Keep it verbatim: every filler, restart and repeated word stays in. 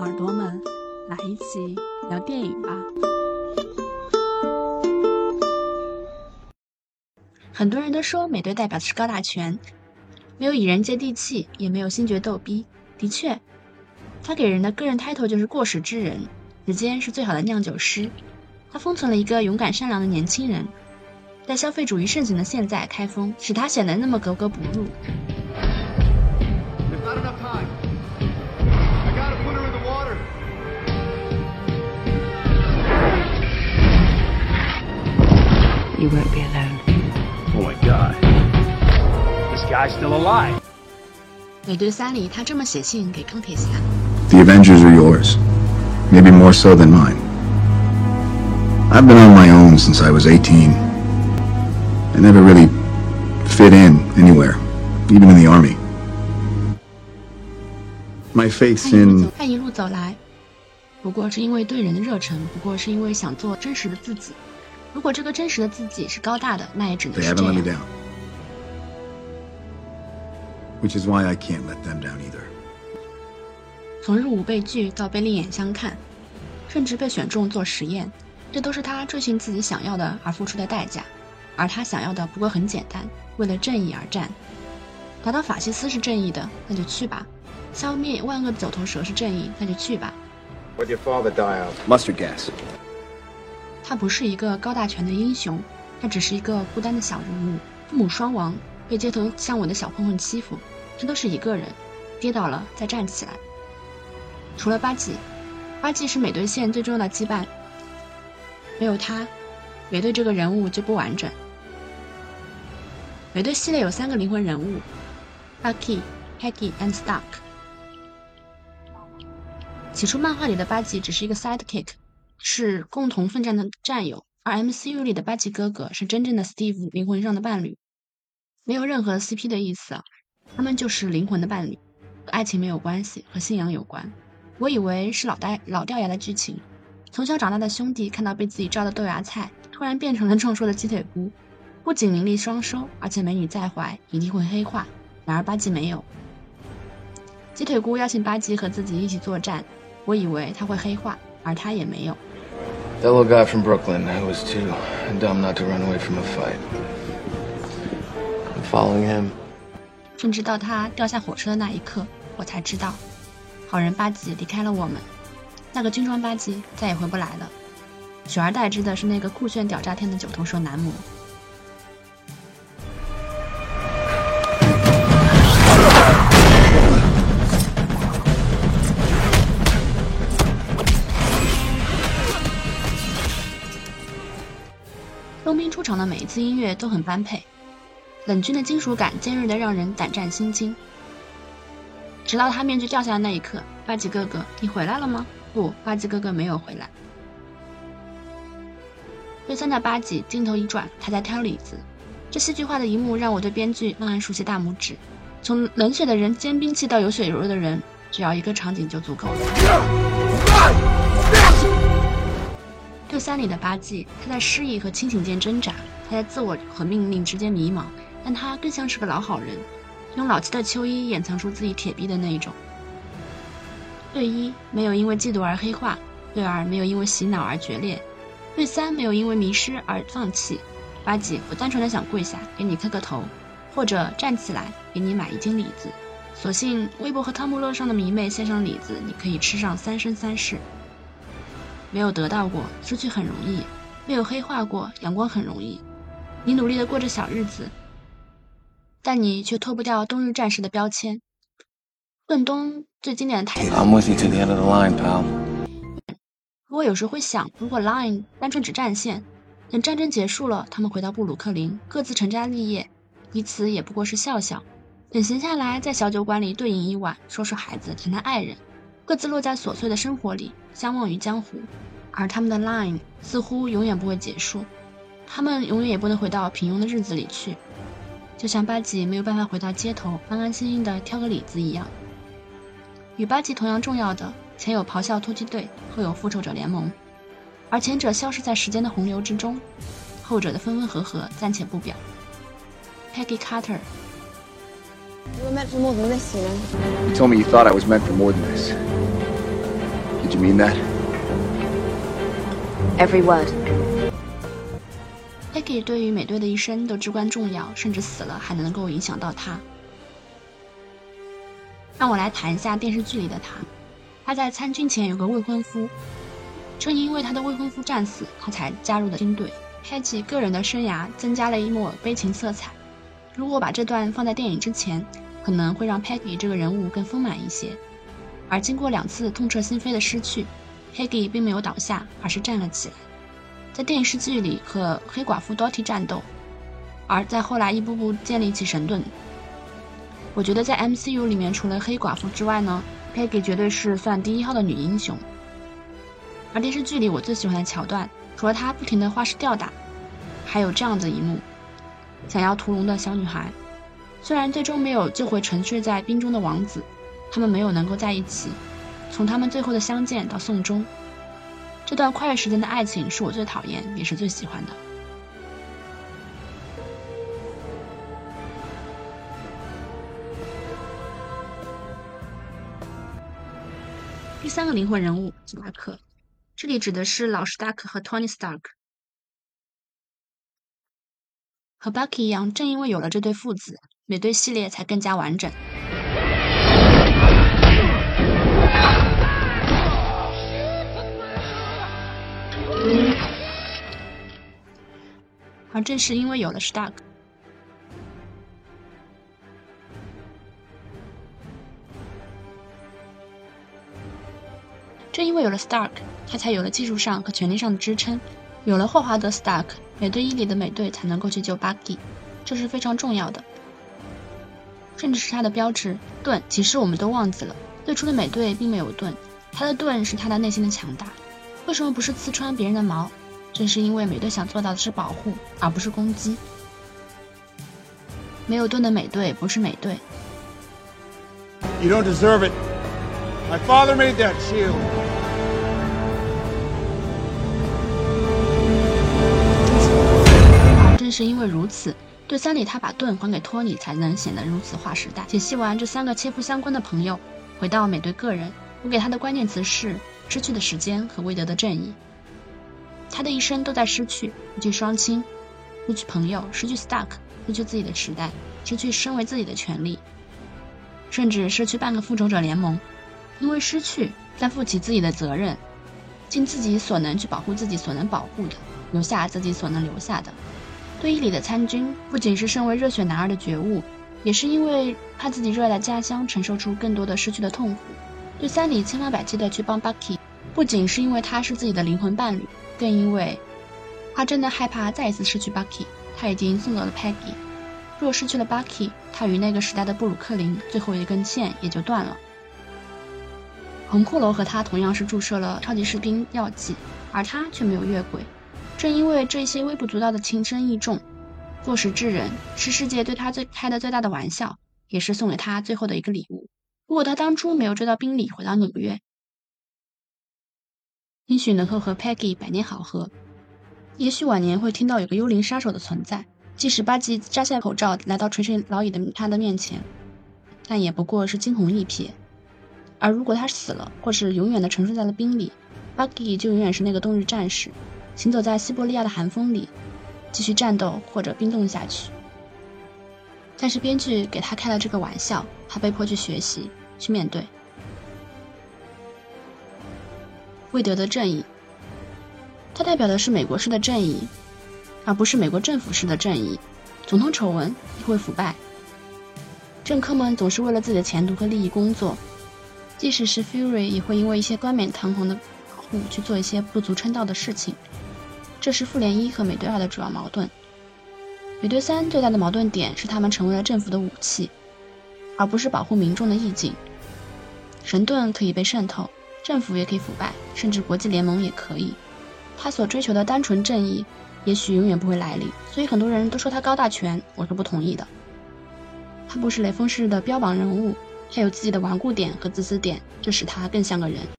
耳朵们，来一起聊电影吧。很多人都说美队代表的是高大全，没有蚁人接地气，也没有星爵逗逼。的确，他给人的个人 title 就是过时之人，时间是最好的酿酒师。他封存了一个勇敢善良的年轻人，在消费主义盛行的现在开封，使他显得那么格格不入。 You won't be alone. Oh my god. This guy's still alive. 美队三里他这么写信给钢铁侠 The Avengers are yours. Maybe more so than mine. I've been on my own since I was eighteen. I never really fit in anywhere, even in the army. My faith in... 他一路走来，不过是因为对人的热忱，不过是因为想做真实的自己。如果这个真实的自己是高大的，那也只能 They 是 haven't 这 let me 样。 down. Which is why I can't let them down either. 从入伍被拒到被另眼相看，甚至被选中做实验，这都是他追寻自己想要的而付出的代价。而他想要的不过很简单，为了正义而战。打倒法西斯是正义的，那就去吧；消灭万恶的九头蛇是正义，那就去吧。 What'd your father die of? Mustard gas. 他不是一个高大全的英雄，他只是一个孤单的小人物，父母双亡，被街头巷尾的小混混欺负，他都是一个人，跌倒了再站起来。除了巴基，巴基是美队线最重要的羁绊，没有他，美队这个人物就不完整。美队系列有三个灵魂人物 Bucky、Peggy and Stark。起初漫画里的巴基只是一个 sidekick， 是共同奋战的战友，而 M C U 里的巴基哥哥是真正的 Steve 灵魂上的伴侣，没有任何 C P 的意思啊，他们就是灵魂的伴侣，和爱情没有关系，和信仰有关。我以为是老呆老掉牙的剧情，从小长大的兄弟看到被自己照的豆芽菜，突然变成了壮硕的鸡腿菇，不仅名利双收，而且美女在怀，一定会黑化。然而巴基没有，鸡腿菇邀请巴基和自己一起作战，我以为他会黑化，而他也没有。 That little guy from Brooklyn, I was too dumb not to run away from a fight. I'm following him. 甚至到他掉下火车的那一刻，我才知道，好人巴基离开了我们，那个军装巴基再也回不来了，取而代之的是那个酷炫屌炸天的九头蛇男模。冬兵出场的每一次音乐都很般配，冷峻的金属感尖锐的让人胆战心惊。直到他面具掉下的那一刻，巴基哥哥，你回来了吗？不，巴基哥哥没有回来。对三的巴基镜头一转，他在挑李子，这戏剧化的一幕让我对编剧暗暗竖起大拇指。从冷血的人尖兵器到有血有肉的人，只要一个场景就足够了。对三里的巴基，他在失意和清醒间挣扎，他在自我和命令之间迷茫，但他更像是个老好人，用老气的秋衣掩藏出自己铁臂的那一种。对一没有因为嫉妒而黑化，对二没有因为洗脑而决裂，对三没有因为迷失而放弃。巴基不单纯的想跪下给你磕个头，或者站起来给你买一斤李子，所幸微博和汤姆乐上的迷妹献上李子，你可以吃上三生三世。没有得到过，失去很容易；没有黑化过，阳光很容易。你努力的过着小日子，但你却脱不掉冬日战士的标签。盾东最经典的台词 I'm with you to the end of the line, pal. 我有时会想，如果 Line 单纯只战线，等战争结束了，他们回到布鲁克林，各自成家立业，彼此也不过是笑笑。等闲下来，在小酒馆里对饮一晚，说说孩子，谈谈爱人，各自落在琐碎的生活里，相忘于江湖。而他们的 Line 似乎永远不会结束，他们永远也不能回到平庸的日子里去，就像巴基没有办法回到街头安安心心的挑个李子一样。与巴基同样重要的，前有咆哮突击队，后有复仇者联盟，而前者消失在时间的洪流之中，后者的分分合合暂且不表。Peggy Carter， You were meant for more than this, you know. You told me you thought I was meant for more than this. Did you mean that? Every word. Peggy 对于美队的一生都至关重要，甚至死了还能够影响到他。让我来谈一下电视剧里的他。他在参军前有个未婚夫，正因为他的未婚夫战死，他才加入了军队。Peggy 个人的生涯增加了一抹悲情色彩。如果把这段放在电影之前，可能会让 Peggy 这个人物更丰满一些。而经过两次痛彻心扉的失去， Peggy 并没有倒下，而是站了起来。在电视剧里和黑寡妇 Dottie 战斗，而在后来一步步建立起神盾。我觉得在 M C U 里面除了黑寡妇之外呢， Peggy 绝对是算第一号的女英雄。而电视剧里我最喜欢的桥段，除了她不停的花式吊打，还有这样的一幕：想要屠龙的小女孩，虽然最终没有救回沉睡在冰中的王子，他们没有能够在一起，从他们最后的相见到送终，这段跨越时间的爱情是我最讨厌也是最喜欢的。第三个灵魂人物史达克，这里指的是老史达克和 Tony Stark。 和 Bucky 一样，正因为有了这对父子，美队系列才更加完整。而正是因为有了 Stark， 正因为有了 Stark， 他才有了技术上和权力上的支撑。有了霍华德 Stark， 美队一里的美队才能够去救 Bucky， 这是非常重要的。甚至是他的标志盾，其实我们都忘记了，最初的美队并没有盾，他的盾是他的内心的强大。为什么不是刺穿别人的毛？正是因为美队想做到的是保护，而不是攻击。没有盾的美队不是美队。 You don't deserve it. My father made that shield. 而正是因为如此，对三里他把盾还给托尼，才能显得如此划时代。解析完这三个切肤相关的朋友，回到美队个人，我给他的关键词是失去的时间和未得的正义。他的一生都在失去，失去双亲，失去朋友，失去 Stark， 失去自己的时代，失去身为自己的权利，甚至失去半个复仇者联盟。因为失去，再负起自己的责任，尽自己所能去保护自己所能保护的，留下自己所能留下的。对伊里的参军，不仅是身为热血男儿的觉悟，也是因为他自己热爱的家乡承受出更多的失去的痛苦。对三里千方百计的去帮 Bucky， 不仅是因为他是自己的灵魂伴侣，更因为他真的害怕再一次失去 Bucky。 他已经送走了 Peggy， 若失去了 Bucky， 他与那个时代的布鲁克林最后一根线也就断了。红骷髅和他同样是注射了超级士兵药剂，而他却没有越轨。正因为这些微不足道的情深意重，做事之人是世界对他最开的最大的玩笑，也是送给他最后的一个礼物。如果他当初没有追到宾利回到纽约，也许能够和 Peggy 百年好合，也许晚年会听到有个幽灵杀手的存在，即使巴基摘下口罩来到垂垂老矣的他的面前，但也不过是惊鸿一瞥。而如果他死了，或是永远的沉睡在了冰里， Bucky 就永远是那个冬日战士，行走在西伯利亚的寒风里，继续战斗或者冰冻下去。但是编剧给他开了这个玩笑，他被迫去学习，去面对。未得的正义，它代表的是美国式的正义，而不是美国政府式的正义。总统丑闻也会腐败，政客们总是为了自己的前途和利益工作，即使是 Fury 也会因为一些冠冕堂皇的保护去做一些不足称道的事情。这是复联一和美队二的主要矛盾。美队三最大的矛盾点是他们成为了政府的武器，而不是保护民众的意境。神盾可以被渗透，政府也可以腐败，甚至国际联盟也可以。他所追求的单纯正义也许永远不会来临，所以很多人都说他高大全，我是不同意的。他不是雷锋式的标榜人物，他有自己的顽固点和自私点，这使他更像个人。